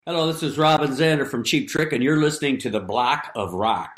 Hello, this is Robin Zander from Cheap Trick, and you're listening to The Block of Rock.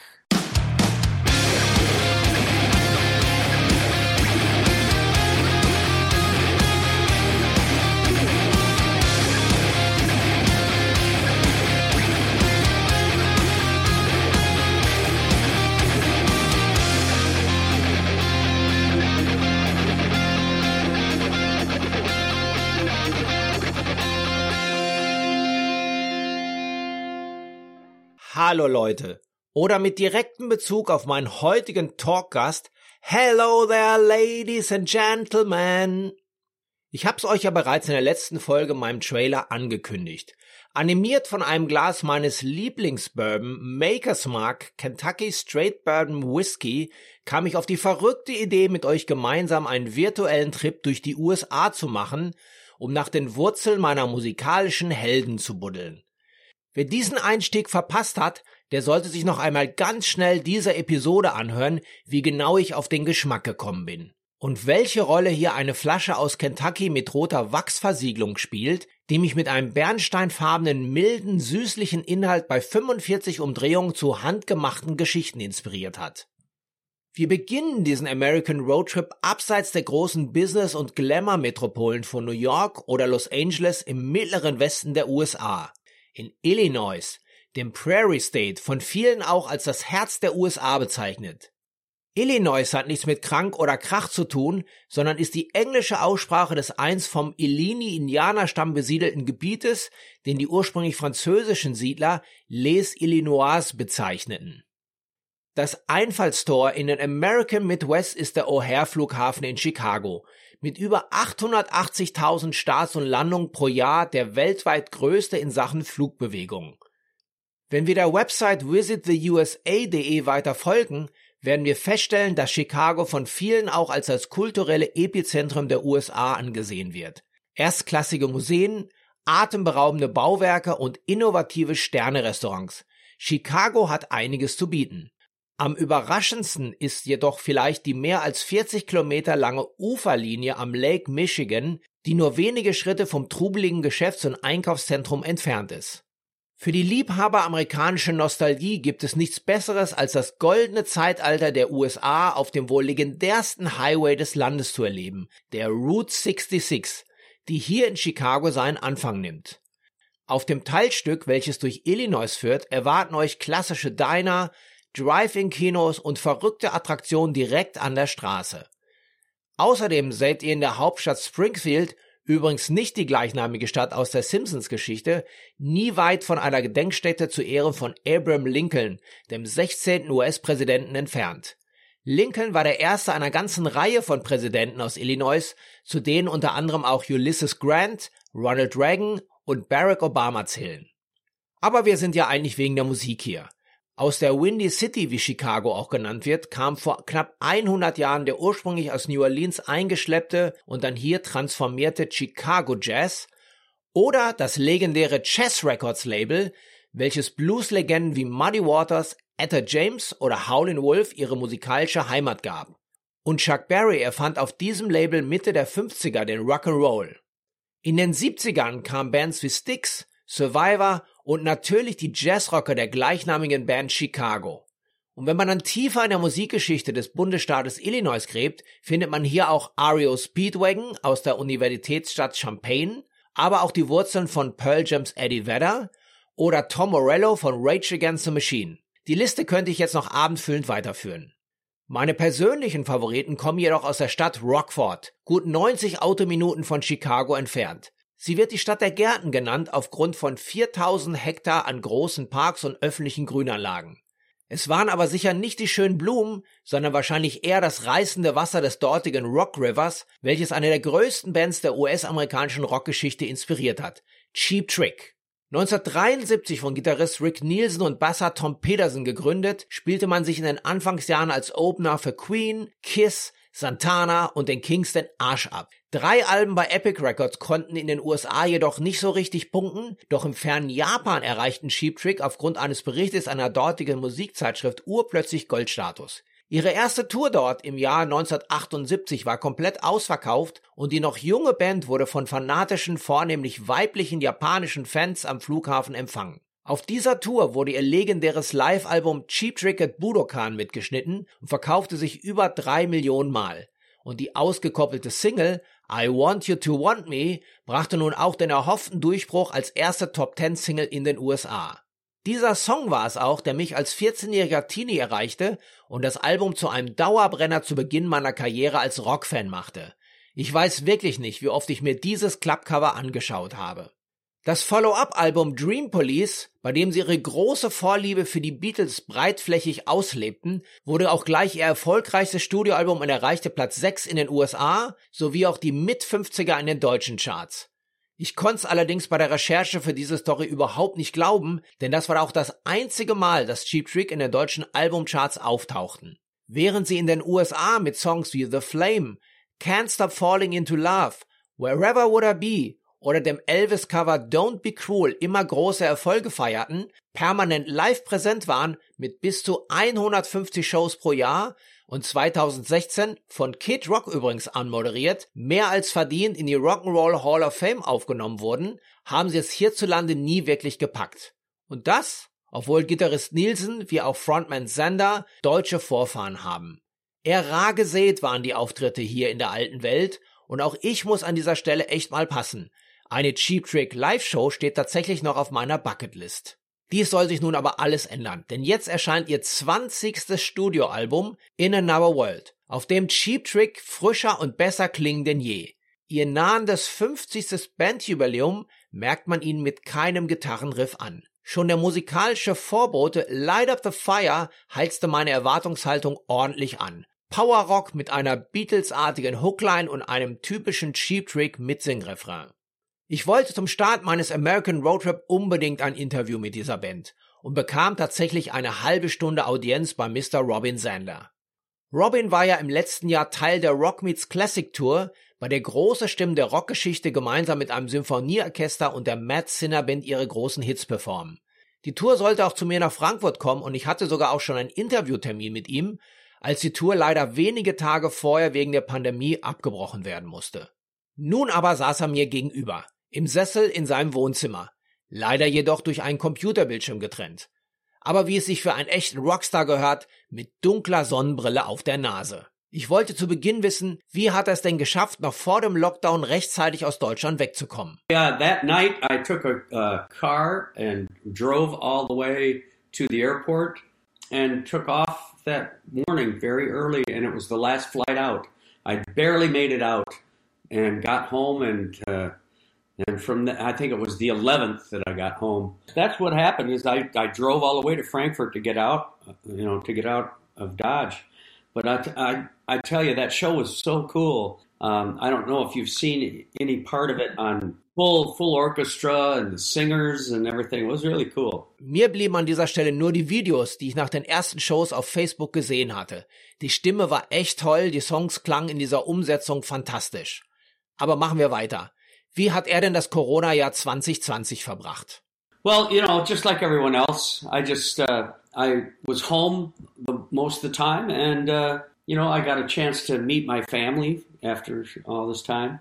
Hallo Leute, oder mit direktem Bezug auf meinen heutigen Talkgast, Hello there ladies and gentlemen. Ich hab's euch ja bereits in der letzten Folge meinem Trailer angekündigt. Animiert von einem Glas meines Lieblingsbourbon Maker's Mark Kentucky Straight Bourbon Whiskey kam ich auf die verrückte Idee, mit euch gemeinsam einen virtuellen Trip durch die USA zu machen, um nach den Wurzeln meiner musikalischen Helden zu buddeln. Wer diesen Einstieg verpasst hat, der sollte sich noch einmal ganz schnell diese Episode anhören, wie genau ich auf den Geschmack gekommen bin. Und welche Rolle hier eine Flasche aus Kentucky mit roter Wachsversiegelung spielt, die mich mit einem bernsteinfarbenen, milden, süßlichen Inhalt bei 45 Umdrehungen zu handgemachten Geschichten inspiriert hat. Wir beginnen diesen American Roadtrip abseits der großen Business- und Glamour-Metropolen von New York oder Los Angeles im mittleren Westen der USA. In Illinois, dem Prairie State, von vielen auch als das Herz der USA bezeichnet. Illinois hat nichts mit krank oder Krach zu tun, sondern ist die englische Aussprache des einst vom Illini-Indianerstamm besiedelten Gebietes, den die ursprünglich französischen Siedler Les Illinois bezeichneten. Das Einfallstor in den American Midwest ist der O'Hare-Flughafen in Chicago, mit über 880.000 Starts und Landungen pro Jahr der weltweit größte in Sachen Flugbewegung. Wenn wir der Website visittheusa.de weiter folgen, werden wir feststellen, dass Chicago von vielen auch als das kulturelle Epizentrum der USA angesehen wird. Erstklassige Museen, atemberaubende Bauwerke und innovative Sterne-Restaurants. Chicago hat einiges zu bieten. Am überraschendsten ist jedoch vielleicht die mehr als 40 Kilometer lange Uferlinie am Lake Michigan, die nur wenige Schritte vom trubeligen Geschäfts- und Einkaufszentrum entfernt ist. Für die Liebhaber amerikanischer Nostalgie gibt es nichts Besseres, als das goldene Zeitalter der USA auf dem wohl legendärsten Highway des Landes zu erleben, der Route 66, die hier in Chicago seinen Anfang nimmt. Auf dem Teilstück, welches durch Illinois führt, erwarten euch klassische Diner, Drive-In-Kinos und verrückte Attraktionen direkt an der Straße. Außerdem seid ihr in der Hauptstadt Springfield, übrigens nicht die gleichnamige Stadt aus der Simpsons-Geschichte, nie weit von einer Gedenkstätte zu Ehren von Abraham Lincoln, dem 16. US-Präsidenten, entfernt. Lincoln war der erste einer ganzen Reihe von Präsidenten aus Illinois, zu denen unter anderem auch Ulysses Grant, Ronald Reagan und Barack Obama zählen. Aber wir sind ja eigentlich wegen der Musik hier. Aus der Windy City, wie Chicago auch genannt wird, kam vor knapp 100 Jahren der ursprünglich aus New Orleans eingeschleppte und dann hier transformierte Chicago Jazz oder das legendäre Chess Records Label, welches Blueslegenden wie Muddy Waters, Etta James oder Howlin' Wolf ihre musikalische Heimat gab. Und Chuck Berry erfand auf diesem Label Mitte der 50er den Rock'n'Roll. In den 70ern kamen Bands wie Styx, Survivor und natürlich die Jazzrocker der gleichnamigen Band Chicago. Und wenn man dann tiefer in der Musikgeschichte des Bundesstaates Illinois gräbt, findet man hier auch REO Speedwagon aus der Universitätsstadt Champaign, aber auch die Wurzeln von Pearl Jam's Eddie Vedder oder Tom Morello von Rage Against the Machine. Die Liste könnte ich jetzt noch abendfüllend weiterführen. Meine persönlichen Favoriten kommen jedoch aus der Stadt Rockford, gut 90 Autominuten von Chicago entfernt. Sie wird die Stadt der Gärten genannt aufgrund von 4000 Hektar an großen Parks und öffentlichen Grünanlagen. Es waren aber sicher nicht die schönen Blumen, sondern wahrscheinlich eher das reißende Wasser des dortigen Rock Rivers, welches eine der größten Bands der US-amerikanischen Rockgeschichte inspiriert hat, Cheap Trick. 1973 von Gitarrist Rick Nielsen und Basser Tom Peterson gegründet, spielte man sich in den Anfangsjahren als Opener für Queen, Kiss, Santana und den Kings den Arsch ab. 3 Alben bei Epic Records konnten in den USA jedoch nicht so richtig punkten, doch im fernen Japan erreichten Cheap Trick aufgrund eines Berichtes einer dortigen Musikzeitschrift urplötzlich Goldstatus. Ihre erste Tour dort im Jahr 1978 war komplett ausverkauft und die noch junge Band wurde von fanatischen, vornehmlich weiblichen japanischen Fans am Flughafen empfangen. Auf dieser Tour wurde ihr legendäres Live-Album Cheap Trick at Budokan mitgeschnitten und verkaufte sich über 3 Millionen Mal. Und die ausgekoppelte Single I Want You to Want Me brachte nun auch den erhofften Durchbruch als erste Top-10-Single in den USA. Dieser Song war es auch, der mich als 14-jähriger Teenie erreichte und das Album zu einem Dauerbrenner zu Beginn meiner Karriere als Rockfan machte. Ich weiß wirklich nicht, wie oft ich mir dieses Klappcover angeschaut habe. Das Follow-up-Album Dream Police, bei dem sie ihre große Vorliebe für die Beatles breitflächig auslebten, wurde auch gleich ihr erfolgreichstes Studioalbum und erreichte Platz 6 in den USA, sowie auch die Mit-50er in den deutschen Charts. Ich konnte es allerdings bei der Recherche für diese Story überhaupt nicht glauben, denn das war auch das einzige Mal, dass Cheap Trick in den deutschen Albumcharts auftauchten. Während sie in den USA mit Songs wie The Flame, Can't Stop Falling Into Love, Wherever Would I Be oder dem Elvis-Cover Don't Be Cruel immer große Erfolge feierten, permanent live präsent waren mit bis zu 150 Shows pro Jahr und 2016, von Kid Rock übrigens anmoderiert, mehr als verdient in die Rock'n'Roll Hall of Fame aufgenommen wurden, haben sie es hierzulande nie wirklich gepackt. Und das, obwohl Gitarrist Nielsen wie auch Frontman Zander deutsche Vorfahren haben. Eher rar gesät waren die Auftritte hier in der alten Welt und auch ich muss an dieser Stelle echt mal passen. Eine Cheap Trick Live-Show steht tatsächlich noch auf meiner Bucketlist. Dies soll sich nun aber alles ändern, denn jetzt erscheint ihr 20. Studioalbum In Another World, auf dem Cheap Trick frischer und besser klingen denn je. Ihr nahendes 50. Bandjubiläum merkt man ihnen mit keinem Gitarrenriff an. Schon der musikalische Vorbote Light Up the Fire heizte meine Erwartungshaltung ordentlich an. Powerrock mit einer Beatles-artigen Hookline und einem typischen Cheap Trick Mitsingrefrain. Ich wollte zum Start meines American Roadtrip unbedingt ein Interview mit dieser Band und bekam tatsächlich eine halbe Stunde Audienz bei Mr. Robin Zander. Robin war ja im letzten Jahr Teil der Rock Meets Classic Tour, bei der große Stimmen der Rockgeschichte gemeinsam mit einem Symphonieorchester und der Mad Sinner Band ihre großen Hits performen. Die Tour sollte auch zu mir nach Frankfurt kommen und ich hatte sogar auch schon einen Interviewtermin mit ihm, als die Tour leider wenige Tage vorher wegen der Pandemie abgebrochen werden musste. Nun aber saß er mir gegenüber, im Sessel in seinem Wohnzimmer, leider jedoch durch einen Computerbildschirm getrennt. Aber wie es sich für einen echten Rockstar gehört, mit dunkler Sonnenbrille auf der Nase. Ich wollte zu Beginn wissen, wie hat er es denn geschafft, noch vor dem Lockdown rechtzeitig aus Deutschland wegzukommen? Yeah, that night I took a car and drove all the way to the airport and took off that morning very early, and it was the last flight out. I barely made it out and got home, and from I think it was the 11th that I got home. That's what happened. Is I drove all the way to Frankfurt to get out, to get out of Dodge. But I tell you, that show was so cool. I don't know if you've seen any part of it on full orchestra and the singers and everything. It was really cool. Mir blieben an dieser Stelle nur die Videos, die ich nach den ersten Shows auf Facebook gesehen hatte. Die Stimme war echt toll, die Songs klangen in dieser Umsetzung fantastisch. Aber machen wir weiter. Wie hat er denn das Corona-Jahr 2020 verbracht? Well, just like everyone else, I was home most of the time, and I got a chance to meet my family after all this time.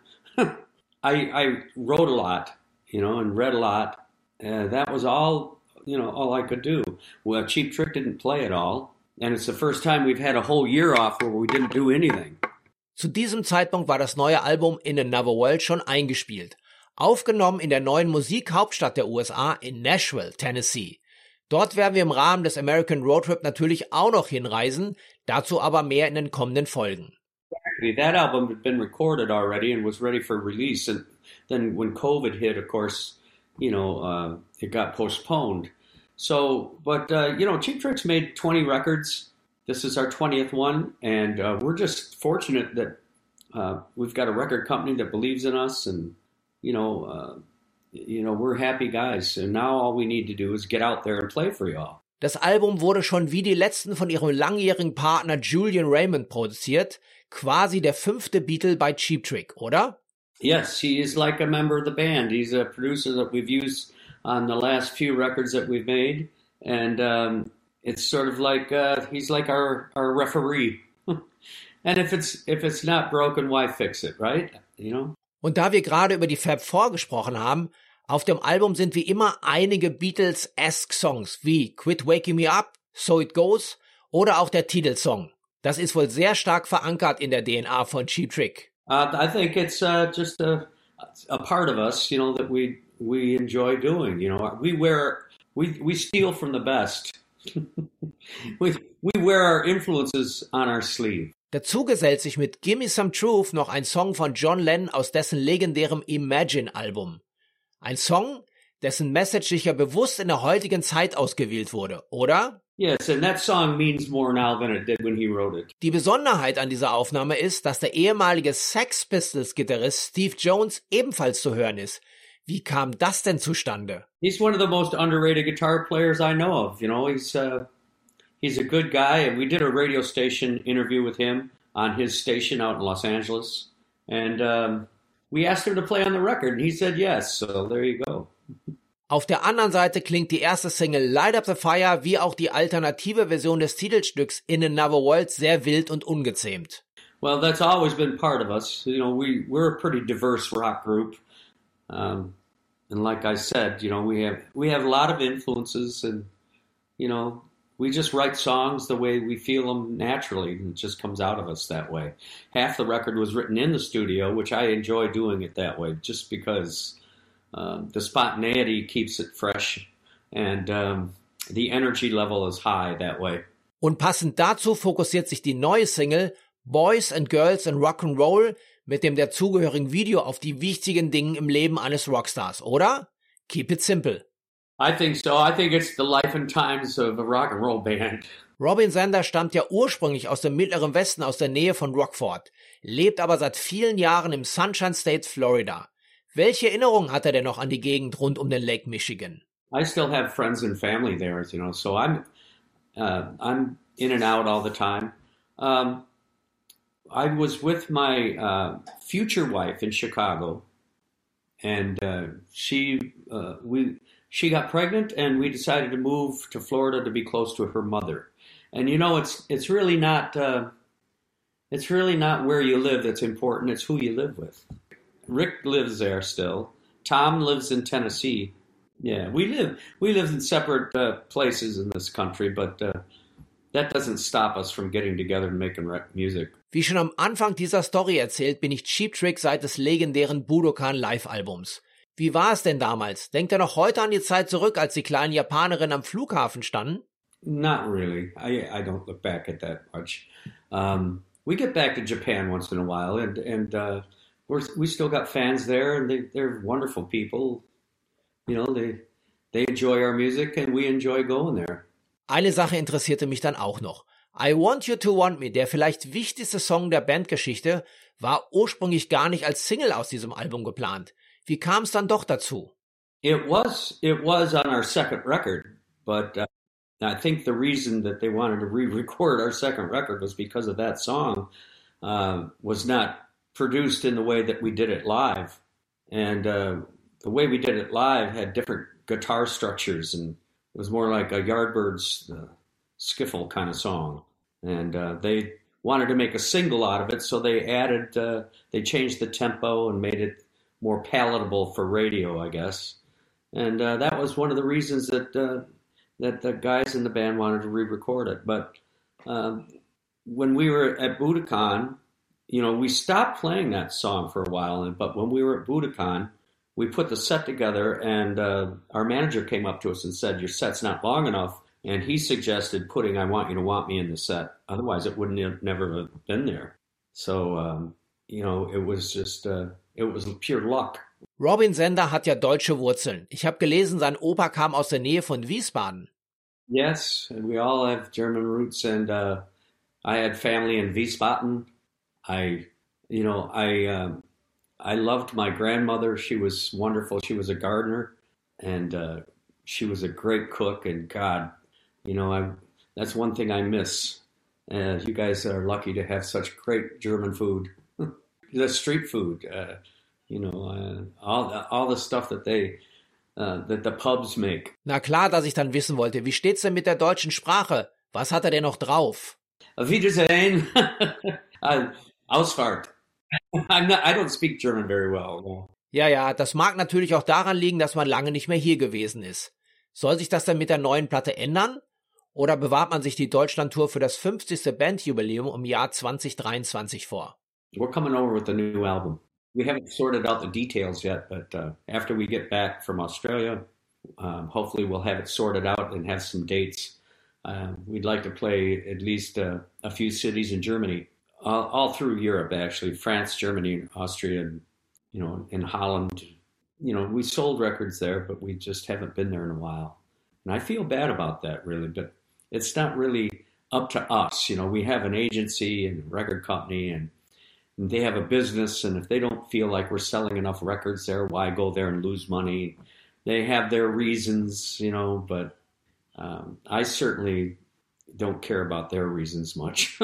I wrote a lot, and read a lot. That was all I could do. Well, Cheap Trick didn't play at all, and it's the first time we've had a whole year off where we didn't do anything. Zu diesem Zeitpunkt war das neue Album In Another World schon eingespielt. Aufgenommen in der neuen Musikhauptstadt der USA in Nashville, Tennessee. Dort werden wir im Rahmen des American Roadtrip natürlich auch noch hinreisen, dazu aber mehr in den kommenden Folgen. That album had been recorded already and was ready for release, and then when COVID hit, of course, it got postponed. So, but Cheap Trick's made 20 records. This is our 20th one, and we're just fortunate that we've got a record company that believes in us, and we're happy guys. And now all we need to do is get out there and play for y'all. Das Album wurde schon wie die letzten von ihrem langjährigen Partner Julian Raymond produziert, quasi der 5. Beatle bei Cheap Trick, oder? Yes, he is like a member of the band. He's a producer that we've used on the last few records that we've made, and It's sort of like he's like our referee. And if it's not broken, why fix it, right? You know? Und da wir gerade über die Fab Four gesprochen haben, auf dem Album sind wie immer einige Beatles-esque Songs wie Quit Waking Me Up, So It Goes oder auch der Titelsong. Das ist wohl sehr stark verankert in der DNA von Cheap Trick. I think it's just a part of us, you know, that we enjoy doing. You know, we steal from the best. we wear our influences on our sleeve. Dazu gesellt sich mit Gimme Some Truth noch ein Song von John Lennon aus dessen legendärem Imagine-Album. Ein Song, dessen Message sicher bewusst in der heutigen Zeit ausgewählt wurde, oder? Yes, and that song means more now than it did when he wrote it. Die Besonderheit an dieser Aufnahme ist, dass der ehemalige Sex Pistols-Gitarrist Steve Jones ebenfalls zu hören ist. Wie kam das denn zustande? He's one of the most underrated guitar players I know of. You know, he's a good guy, and we did a radio station interview with him on his station out in Los Angeles, and we asked him to play on the record, and he said yes. So there you go. Auf der anderen Seite klingt die erste Single Light Up the Fire wie auch die alternative Version des Titelstücks In Another World sehr wild und ungezähmt. Well, that's always been part of us. You know, we're a pretty diverse rock group. And like I said, you know, we have a lot of influences, and, you know, we just write songs the way we feel them naturally, and it just comes out of us that way. Half the record was written in the studio, which I enjoy doing it that way, just because the spontaneity keeps it fresh, and the energy level is high that way. Und passend dazu fokussiert sich die neue Single Boys and Girls and Rock'n'Roll mit dem dazugehörigen Video auf die wichtigen Dinge im Leben eines Rockstars, oder? Keep it simple. I think so. I think it's the life and times of a rock and roll band. Robin Zander stammt ja ursprünglich aus dem Mittleren Westen, aus der Nähe von Rockford, lebt aber seit vielen Jahren im Sunshine State, Florida. Welche Erinnerungen hat er denn noch an die Gegend rund um den Lake Michigan? I still have friends and family there, you know, so I'm in and out all the time. I was with my future wife in Chicago, and she got pregnant, and we decided to move to Florida to be close to her mother. And you know, it's really not where you live that's important. It's who you live with. Rick lives there still. Tom lives in Tennessee. Yeah, we live in separate places in this country, but that doesn't stop us from getting together and making music. Wie schon am Anfang dieser Story erzählt, bin ich Cheap Trick seit des legendären Budokan Live-Albums. Wie war es denn damals? Denkt ihr noch heute an die Zeit zurück, als die kleinen Japanerinnen am Flughafen standen? Not really. I don't look back at that much. We get back to Japan once in a while, and we still got fans there, and they're wonderful people. You know, they enjoy our music, and we enjoy going there. Eine Sache interessierte mich dann auch noch. I Want You to Want Me, der vielleicht wichtigste Song der Bandgeschichte, war ursprünglich gar nicht als Single aus diesem Album geplant. Wie kam es dann doch dazu? It was on our second record, but I think the reason that they wanted to re-record our second record was because of that song was not produced in the way that we did it live. And the way we did it live had different guitar structures, and it was more like a Yardbirds skiffle kind of song. And they wanted to make a single out of it, so they changed the tempo and made it more palatable for radio, I guess. And that was one of the reasons that the guys in the band wanted to re-record it. But when we were at Budokan, you know, we stopped playing that song for a while. But when we were at Budokan, we put the set together, and our manager came up to us and said, "Your set's not long enough." And he suggested putting I Want You to Want Me in the set. Otherwise, it wouldn't have never been there. So, you know, it was just, it was pure luck. Robin Zander hat ja deutsche Wurzeln. Ich habe gelesen, sein Opa kam aus der Nähe von Wiesbaden. Yes, and we all have German roots, and I had family in Wiesbaden. I loved my grandmother. She was wonderful. She was a gardener, and she was a great cook. And God, you know, that's one thing I miss. You guys are lucky to have such great German food. The street food, you know, all the stuff that they that the pubs make. Na klar, dass ich dann wissen wollte, wie steht's denn mit der deutschen Sprache? Was hat er denn noch drauf? Auf Wiedersehen. Ausfahrt. I don't speak German very well. No. Ja, das mag natürlich auch daran liegen, dass man lange nicht mehr hier gewesen ist. Soll sich das dann mit der neuen Platte ändern? Oder bewahrt man sich die Deutschlandtour für das 50. Bandjubiläum im Jahr 2023 vor? We're coming over with a new album. We haven't sorted out the details yet, but after we get back from Australia, hopefully we'll have it sorted out and have some dates. We'd like to play at least a few cities in Germany, all through Europe, actually, France, Germany, Austria, and, in Holland. We sold records there, but we just haven't been there in a while. And I feel bad about that, really, but it's not really up to us. We have an agency and a record company, and they have a business, and if they don't feel like we're selling enough records there, why go there and lose money? They have their reasons, but I certainly don't care about their reasons much.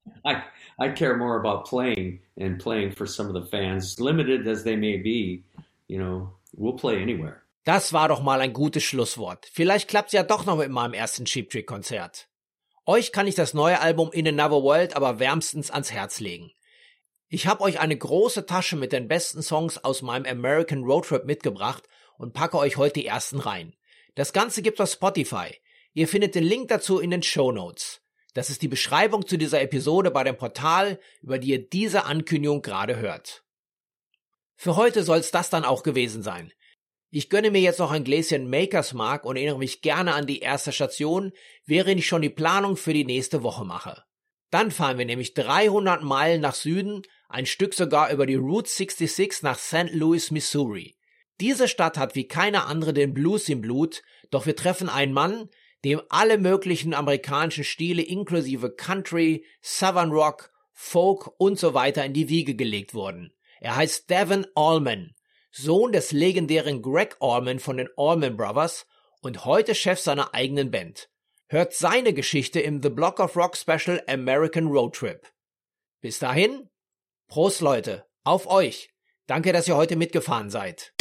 I care more about playing and playing for some of the fans, limited as they may be. We'll play anywhere. Das war doch mal ein gutes Schlusswort. Vielleicht klappt's ja doch noch mit meinem ersten Cheap Trick Konzert. Euch kann ich das neue Album In Another World aber wärmstens ans Herz legen. Ich habe euch eine große Tasche mit den besten Songs aus meinem American Road Trip mitgebracht und packe euch heute die ersten rein. Das Ganze gibt's auf Spotify. Ihr findet den Link dazu in den Shownotes. Das ist die Beschreibung zu dieser Episode bei dem Portal, über die ihr diese Ankündigung gerade hört. Für heute soll's das dann auch gewesen sein. Ich gönne mir jetzt noch ein Gläschen Maker's Mark und erinnere mich gerne an die erste Station, während ich schon die Planung für die nächste Woche mache. Dann fahren wir nämlich 300 Meilen nach Süden, ein Stück sogar über die Route 66 nach St. Louis, Missouri. Diese Stadt hat wie keine andere den Blues im Blut, doch wir treffen einen Mann, dem alle möglichen amerikanischen Stile inklusive Country, Southern Rock, Folk und so weiter in die Wiege gelegt wurden. Er heißt Devon Allman, Sohn des legendären Greg Allman von den Allman Brothers und heute Chef seiner eigenen Band. Hört seine Geschichte im The Block of Rock Special American Road Trip. Bis dahin, Prost Leute, auf euch. Danke, dass ihr heute mitgefahren seid.